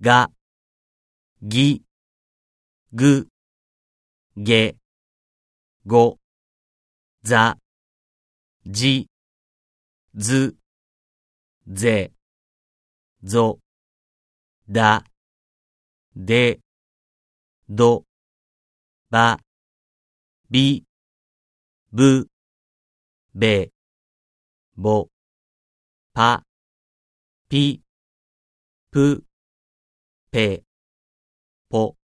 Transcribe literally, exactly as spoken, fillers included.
が、ぎ、ぐ、げ、ご、ざ、じ、ず、ぜ、ぞ、だ、で、ど、ば、び、ぶ、べ、ぼ、ぱ、ぴ、ぷ、ぺ、ぽ。